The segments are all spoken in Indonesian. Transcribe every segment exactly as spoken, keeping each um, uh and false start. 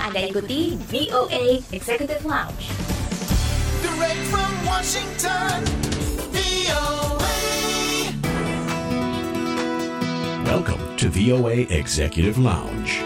Anda ikuti V O A Executive Lounge. Direct from Washington, V O A. Welcome to V O A Executive Lounge.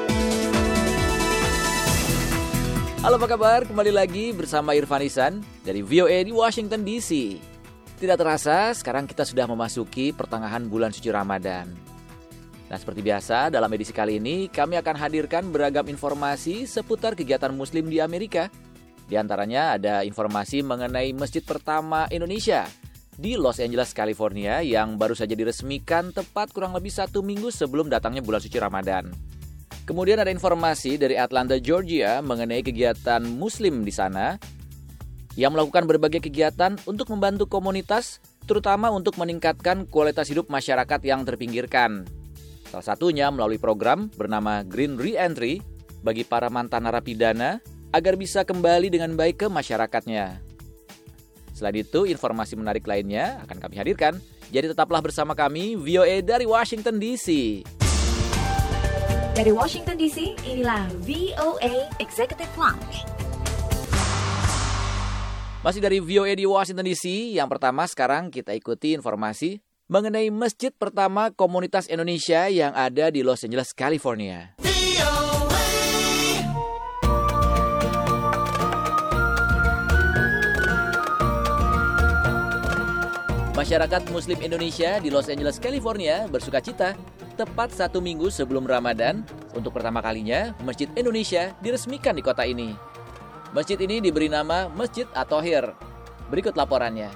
Halo, apa kabar? Kembali lagi bersama Irfan Ihsan dari V O A di Washington D C. Tidak terasa, sekarang kita sudah memasuki pertengahan bulan suci Ramadan. Nah, seperti biasa, dalam edisi kali ini kami akan hadirkan beragam informasi seputar kegiatan Muslim di Amerika. Di antaranya ada informasi mengenai masjid pertama Indonesia di Los Angeles, California yang baru saja diresmikan tepat kurang lebih satu minggu sebelum datangnya bulan suci Ramadan. Kemudian ada informasi dari Atlanta, Georgia mengenai kegiatan Muslim di sana yang melakukan berbagai kegiatan untuk membantu komunitas, terutama untuk meningkatkan kualitas hidup masyarakat yang terpinggirkan. Salah satunya melalui program bernama Green Re-Entry bagi para mantan narapidana agar bisa kembali dengan baik ke masyarakatnya. Selain itu, informasi menarik lainnya akan kami hadirkan. Jadi tetaplah bersama kami, V O A dari Washington D C. Dari Washington D C, inilah V O A Executive Lounge. Masih dari V O A di Washington D C, yang pertama sekarang kita ikuti informasi mengenai masjid pertama komunitas Indonesia yang ada di Los Angeles, California. Masyarakat Muslim Indonesia di Los Angeles, California bersukacita tepat satu minggu sebelum Ramadan. Untuk pertama kalinya, Masjid Indonesia diresmikan di kota ini. Masjid ini diberi nama Masjid At-Thohir. Berikut laporannya.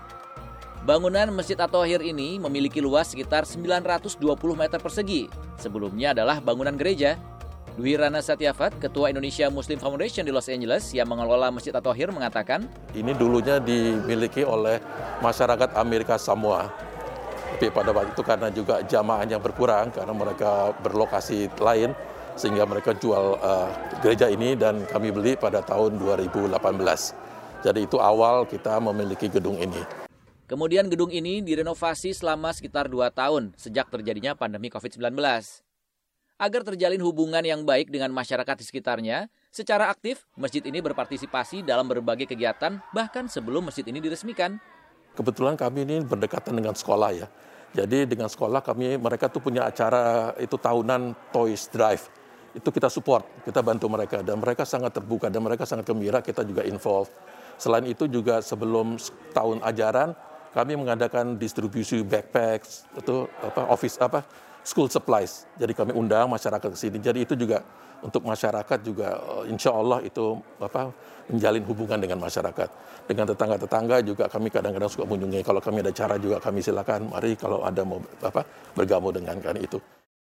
Bangunan Masjid At-Thohir ini memiliki luas sekitar sembilan ratus dua puluh meter persegi. Sebelumnya adalah bangunan gereja. Dwi Rana Satyafat, Ketua Indonesia Muslim Foundation di Los Angeles yang mengelola Masjid At-Thohir mengatakan, ini dulunya dimiliki oleh masyarakat Amerika Samoa. Tapi pada waktu itu karena juga jamaahnya berkurang, karena mereka berlokasi lain, sehingga mereka jual uh, gereja ini dan kami beli pada tahun dua ribu delapan belas. Jadi itu awal kita memiliki gedung ini. Kemudian gedung ini direnovasi selama sekitar dua tahun sejak terjadinya pandemi covid sembilan belas. Agar terjalin hubungan yang baik dengan masyarakat di sekitarnya, secara aktif masjid ini berpartisipasi dalam berbagai kegiatan bahkan sebelum masjid ini diresmikan. Kebetulan kami ini berdekatan dengan sekolah ya. Jadi dengan sekolah kami, mereka tuh punya acara itu tahunan Toys Drive. Itu kita support, kita bantu mereka dan mereka sangat terbuka dan mereka sangat gembira, kita juga involve. Selain itu juga sebelum tahun ajaran, kami mengadakan distribusi backpacks, itu apa office apa school supplies. Jadi kami undang masyarakat ke sini. Jadi itu juga untuk masyarakat juga insya Allah itu apa menjalin hubungan dengan masyarakat. Dengan tetangga-tetangga juga kami kadang-kadang suka mengunjungi. Kalau kami ada cara juga kami silakan. Mari kalau ada mau apa bergabung dengan kan itu.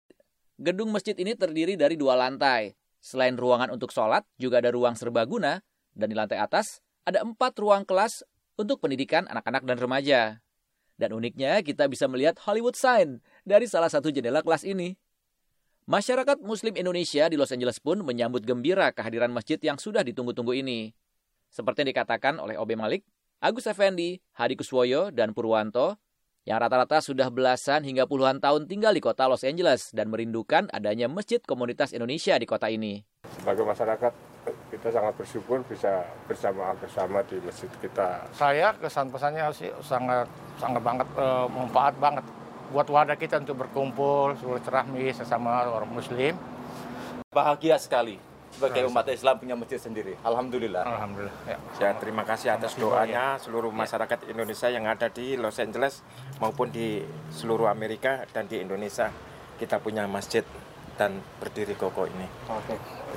Gedung masjid ini terdiri dari dua lantai. Selain ruangan untuk sholat, juga ada ruang serbaguna. Dan di lantai atas ada empat ruang kelas untuk pendidikan anak-anak dan remaja. Dan uniknya kita bisa melihat Hollywood sign dari salah satu jendela kelas ini. Masyarakat Muslim Indonesia di Los Angeles pun menyambut gembira kehadiran masjid yang sudah ditunggu-tunggu ini. Seperti yang dikatakan oleh Obe Malik, Agus Effendi, Hadi Kuswoyo, dan Purwanto, yang rata-rata sudah belasan hingga puluhan tahun tinggal di kota Los Angeles dan merindukan adanya masjid komunitas Indonesia di kota ini. Sebagai masyarakat, kita sangat bersyukur bisa bersama bersama di masjid kita. Saya kesan pesannya sih sangat sangat banget e, manfaat banget buat wadah kita untuk berkumpul, silaturahmi sesama orang Muslim. Bahagia sekali sebagai umat Islam punya masjid sendiri. Alhamdulillah. Alhamdulillah. Ya. Saya terima kasih atas doanya seluruh masyarakat Indonesia yang ada di Los Angeles maupun di seluruh Amerika dan di Indonesia. Kita punya masjid dan berdiri kokoh ini. Oke.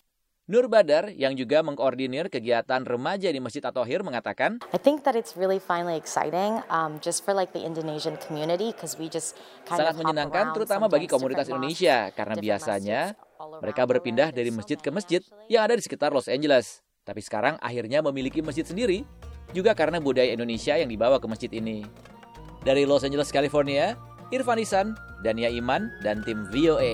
Nur Badar yang juga mengkoordinir kegiatan remaja di Masjid At-Thohir mengatakan, I think that it's really finally exciting um, just for like the Indonesian community because we just kind sangat of menyenangkan terutama bagi komunitas Indonesia karena biasanya mereka berpindah dari masjid ke masjid yang ada di sekitar Los Angeles. Tapi sekarang akhirnya memiliki masjid sendiri juga karena budaya Indonesia yang dibawa ke masjid ini. Dari Los Angeles, California, Irfan Ihsan, Dania Iman, dan tim V O A.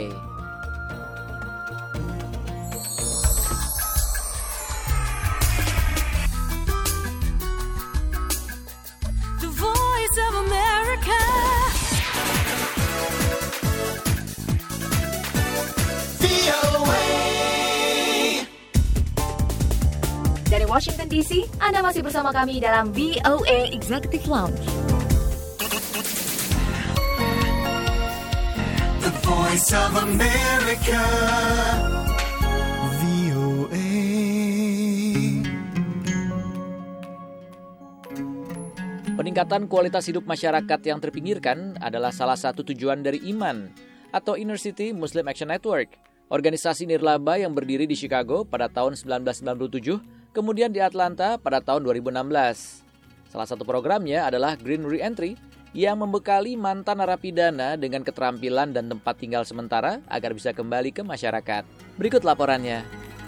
Washington D C. Anda masih bersama kami dalam V O A Executive Lounge. The Voice of America. V O A. Peningkatan kualitas hidup masyarakat yang terpinggirkan adalah salah satu tujuan dari I M A N atau Inner City Muslim Action Network, organisasi nirlaba yang berdiri di Chicago pada tahun sembilan belas sembilan puluh tujuh, kemudian di Atlanta pada tahun dua ribu enam belas. Salah satu programnya adalah Green Re-Entry yang membekali mantan narapidana dengan keterampilan dan tempat tinggal sementara agar bisa kembali ke masyarakat. Berikut laporannya.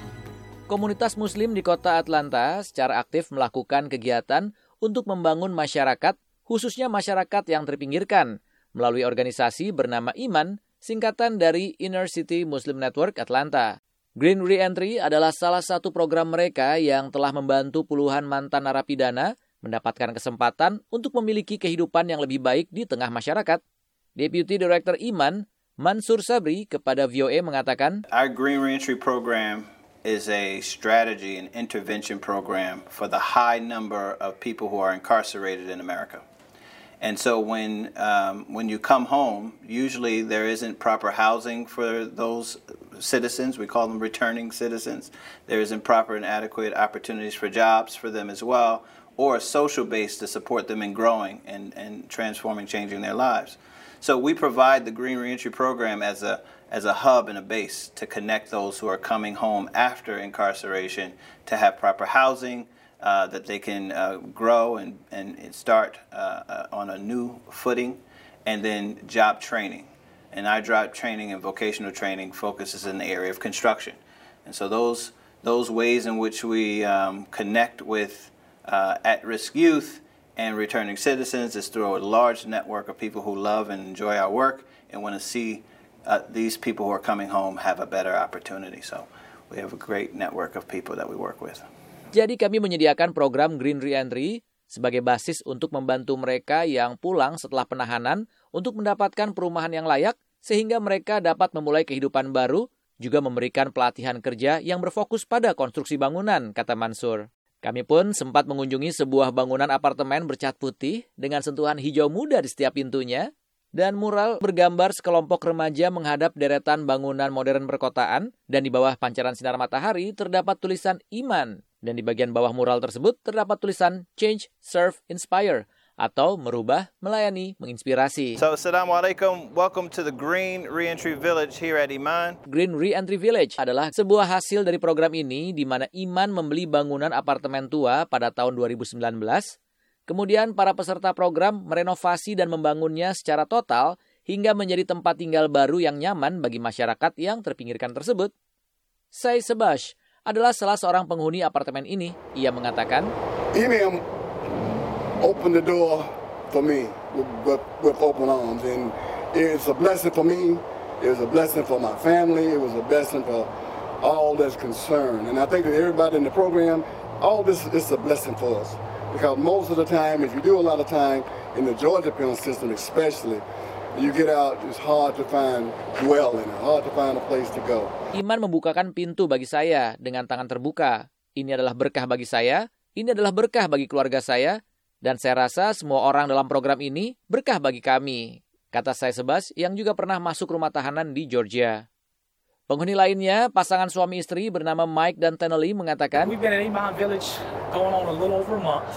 Komunitas Muslim di kota Atlanta secara aktif melakukan kegiatan untuk membangun masyarakat, khususnya masyarakat yang terpinggirkan, melalui organisasi bernama I M A N, singkatan dari Inner City Muslim Network Atlanta. Green Re-Entry adalah salah satu program mereka yang telah membantu puluhan mantan narapidana mendapatkan kesempatan untuk memiliki kehidupan yang lebih baik di tengah masyarakat. Deputy Director I M A N, Mansur Sabri, kepada V O A mengatakan, Our Green Re-Entry program is a strategy and intervention program for the high number of people who are incarcerated in America. And so when um, when you come home, usually there isn't proper housing for those citizens. We call them returning citizens. There isn't proper and adequate opportunities for jobs for them as well, or a social base to support them in growing and, and transforming, changing their lives. So we provide the Green Re-Entry program as a as a hub and a base to connect those who are coming home after incarceration to have proper housing, uh, that they can uh, grow and, and start uh, uh, on a new footing, and then job training. And our job training and vocational training focuses in the area of construction. And so those, those ways in which we um, connect with uh, at-risk youth and returning citizens is through a large network of people who love and enjoy our work and want to see Uh, these people who are coming home have a better opportunity. So we have a great network of people that we work with. Jadi kami menyediakan program Green Re-Entry sebagai basis untuk membantu mereka yang pulang setelah penahanan untuk mendapatkan perumahan yang layak sehingga mereka dapat memulai kehidupan baru, juga memberikan pelatihan kerja yang berfokus pada konstruksi bangunan, kata Mansur. Kami pun sempat mengunjungi sebuah bangunan apartemen bercat putih dengan sentuhan hijau muda di setiap pintunya, dan mural bergambar sekelompok remaja menghadap deretan bangunan modern perkotaan, dan di bawah pancaran sinar matahari terdapat tulisan I M A N, dan di bagian bawah mural tersebut terdapat tulisan Change, Serve, Inspire, atau merubah, melayani, menginspirasi. So, Assalamualaikum. Welcome to the Green Re-Entry Village here at I M A N. Green Re-Entry Village adalah sebuah hasil dari program ini di mana I M A N membeli bangunan apartemen tua pada tahun dua ribu sembilan belas. Kemudian para peserta program merenovasi dan membangunnya secara total hingga menjadi tempat tinggal baru yang nyaman bagi masyarakat yang terpinggirkan tersebut. Say Sebash adalah salah seorang penghuni apartemen ini. Ia mengatakan, I M A N opened the door for me with, with, with open arms, and it's a blessing for me. It was a blessing for my family. It was a blessing for all that's concerned. And I think that everybody in the program, all this is a blessing for us. Because most of the time, if you do a lot of time in the Georgia penal system especially, you get out, it's hard to find dwelling, hard to find a place to go. I M A N membukakan pintu bagi saya dengan tangan terbuka. Ini adalah berkah bagi saya, ini adalah berkah bagi keluarga saya, dan saya rasa semua orang dalam program ini berkah bagi kami, kata saya Sebas yang juga pernah masuk rumah tahanan di Georgia. Penghuni lainnya, pasangan suami istri bernama Mike dan Tenelly mengatakan, We've been in I M A N Village going on a little over a month.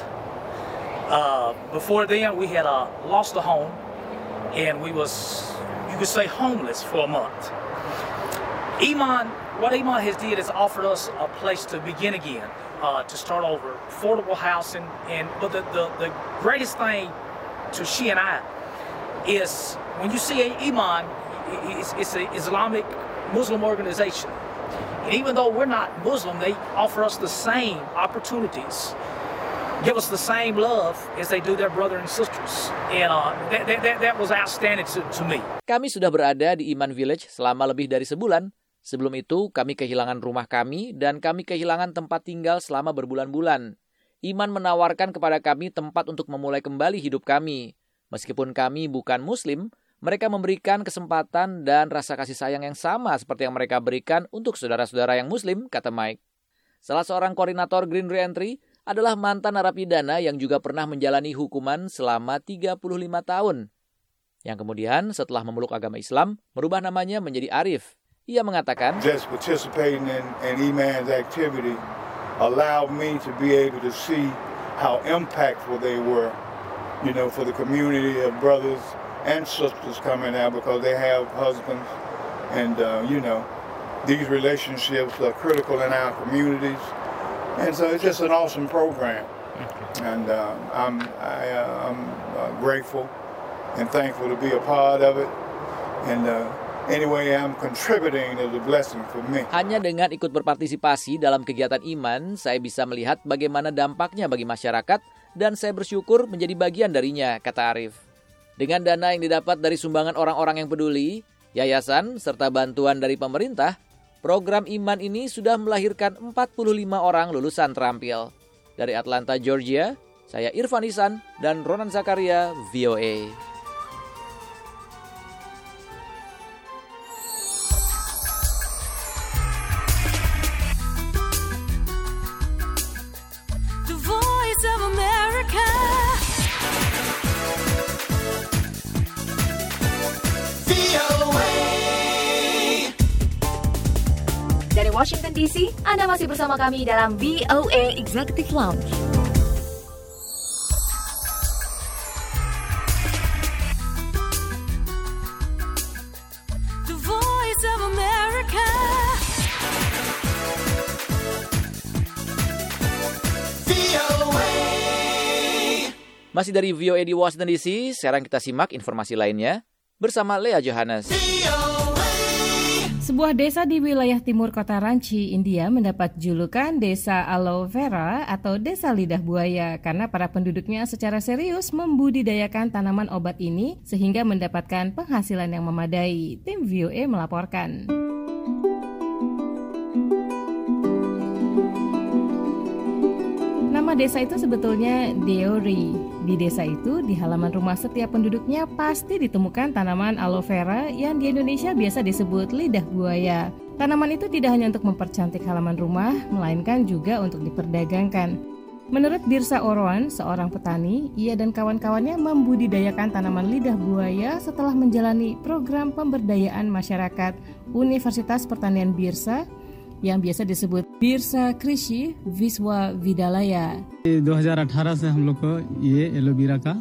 Uh, before then, we had uh, lost a home, and we was, you could say, homeless for a month. I M A N, what I M A N has did is offered us a place to begin again, uh, to start over, affordable housing, and but the, the, the greatest thing to she and I is when you see I M A N, it's, it's an Islamic Muslim organization. And even though we're not Muslim, they offer us the same opportunities, give us the same love as they do their brother and sisters. And uh, that, that, that was outstanding to, to me. Kami sudah berada di I M A N Village selama lebih dari sebulan. Sebelum itu, kami kehilangan rumah kami dan kami kehilangan tempat tinggal selama berbulan-bulan. I M A N menawarkan kepada kami tempat untuk memulai kembali hidup kami. Meskipun kami bukan Muslim, mereka memberikan kesempatan dan rasa kasih sayang yang sama seperti yang mereka berikan untuk saudara-saudara yang Muslim, kata Mike. Salah seorang koordinator Green Re-Entry adalah mantan narapidana yang juga pernah menjalani hukuman selama tiga puluh lima tahun. Yang kemudian setelah memeluk agama Islam, merubah namanya menjadi Arif. Ia mengatakan, Just participating in, in Iman's activity allowed me to be able to see how impactful they were, you know, for the community of brothers and sisters coming out because they have husbands. And, uh, you know, these relationships are critical in our communities. And so it's just an awesome program. And uh, I'm, I, uh, I'm uh, grateful and thankful to be a part of it. And uh, anyway, I'm contributing as a blessing for me. Hanya dengan ikut berpartisipasi dalam kegiatan iman, saya bisa melihat bagaimana dampaknya bagi masyarakat dan saya bersyukur menjadi bagian darinya, kata Arif. Dengan dana yang didapat dari sumbangan orang-orang yang peduli, yayasan, serta bantuan dari pemerintah, program iman ini sudah melahirkan empat puluh lima orang lulusan terampil. Dari Atlanta, Georgia, saya Irfan Ihsan dan Ronan Zakaria, V O A. The Voice of America. V O A. Dari Washington D C, Anda masih bersama kami dalam V O A Executive Lounge. The Voice of America. V O A. Masih dari V O A di Washington D C, sekarang kita simak informasi lainnya bersama Lea Johannes. Sebuah desa di wilayah timur kota Ranchi, India mendapat julukan Desa Aloe Vera atau Desa Lidah Buaya karena para penduduknya secara serius membudidayakan tanaman obat ini sehingga mendapatkan penghasilan yang memadai. Tim V O A melaporkan. Nama desa itu sebetulnya Deori. Di desa itu, di halaman rumah setiap penduduknya pasti ditemukan tanaman aloe vera yang di Indonesia biasa disebut lidah buaya. Tanaman itu tidak hanya untuk mempercantik halaman rumah, melainkan juga untuk diperdagangkan. Menurut Birsa Orwan, seorang petani, ia dan kawan-kawannya membudidayakan tanaman lidah buaya setelah menjalani program pemberdayaan masyarakat Universitas Pertanian Birsa yang biasa disebut Birsa Krishi Viswa Vidalaya. दो हज़ार अठारह से हम लोग को ये एलोवेरा का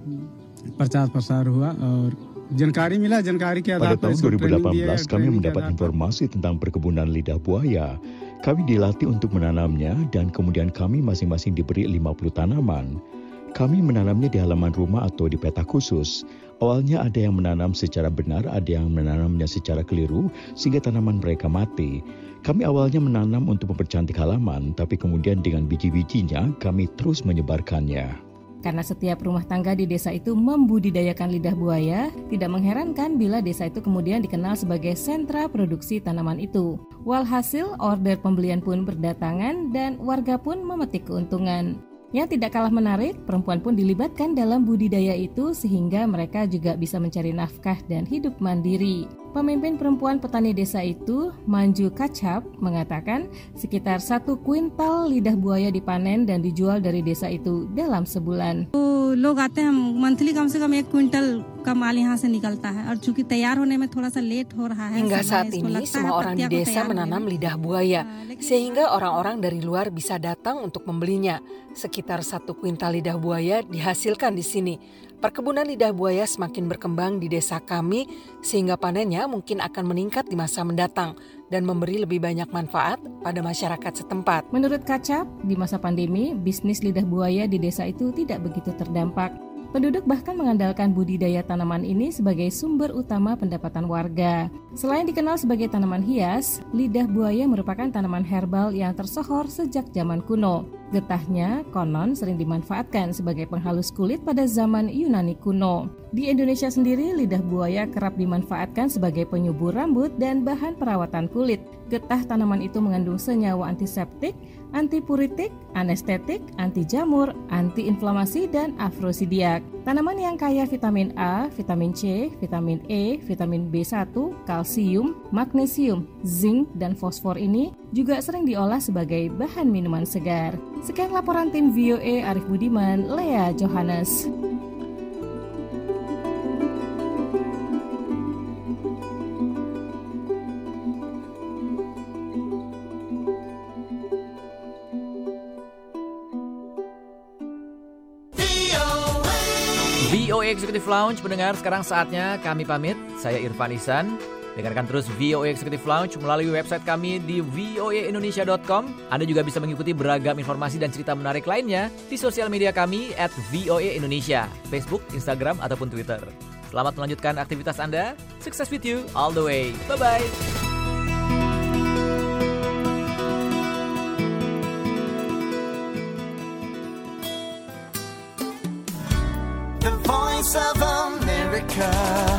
प्रचार प्रसार हुआ और जानकारी मिला जानकारी के आधार पर pada tahun dua ribu delapan belas kami mendapat informasi tentang perkebunan lidah buaya. Kami dilatih untuk menanamnya dan kemudian kami masing-masing diberi lima puluh tanaman. Kami menanamnya di halaman rumah atau di petak khusus. Awalnya ada yang menanam secara benar, ada yang menanamnya secara keliru sehingga tanaman mereka mati. Kami awalnya menanam untuk mempercantik halaman, tapi kemudian dengan biji-bijinya kami terus menyebarkannya. Karena setiap rumah tangga di desa itu membudidayakan lidah buaya, tidak mengherankan bila desa itu kemudian dikenal sebagai sentra produksi tanaman itu. Walhasil, order pembelian pun berdatangan dan warga pun memetik keuntungan. Yang tidak kalah menarik, perempuan pun dilibatkan dalam budidaya itu sehingga mereka juga bisa mencari nafkah dan hidup mandiri. Pemimpin perempuan petani desa itu, Manju Kachap, mengatakan sekitar satu kuintal lidah buaya dipanen dan dijual dari desa itu dalam sebulan. लोग आते हैं मंथली कम से कम एक क्विंटल का माल यहाँ से निकलता है और चूंकि तैयार होने में थोड़ा सा लेट हो रहा है. Hingga saat ini semua orang di desa menanam lidah buaya sehingga orang-orang dari luar bisa datang untuk membelinya. Sekitar satu kuintal lidah buaya dihasilkan di sini. Perkebunan lidah buaya semakin berkembang di desa kami sehingga panennya mungkin akan meningkat di masa mendatang dan memberi lebih banyak manfaat pada masyarakat setempat. Menurut Kacap, di masa pandemi, bisnis lidah buaya di desa itu tidak begitu terdampak. Penduduk bahkan mengandalkan budidaya tanaman ini sebagai sumber utama pendapatan warga. Selain dikenal sebagai tanaman hias, lidah buaya merupakan tanaman herbal yang tersohor sejak zaman kuno. Getahnya konon sering dimanfaatkan sebagai penghalus kulit pada zaman Yunani kuno. Di Indonesia sendiri, lidah buaya kerap dimanfaatkan sebagai penyubur rambut dan bahan perawatan kulit. Getah tanaman itu mengandung senyawa antiseptik, antipuritik, anestetik, anti jamur, antiinflamasi, dan afrosidiak. Tanaman yang kaya vitamin A, vitamin C, vitamin E, vitamin B satu, kalsium, magnesium, zinc, dan fosfor ini juga sering diolah sebagai bahan minuman segar. Sekian laporan tim V O A Arif Budiman, Lea Johannes. V O A Executive Lounge mendengar, sekarang saatnya kami pamit. Saya Irfan Ihsan. Dengarkan terus V O A Executive Lounge melalui website kami di v o a indonesia dot com. Anda juga bisa mengikuti beragam informasi dan cerita menarik lainnya di sosial media kami at V O A Indonesia, Facebook, Instagram, ataupun Twitter. Selamat melanjutkan aktivitas Anda. Success with you all the way. Bye-bye. The Voice of America.